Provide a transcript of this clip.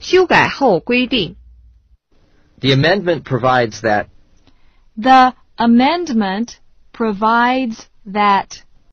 修改后规定。 The amendment provides that. The amendment provides that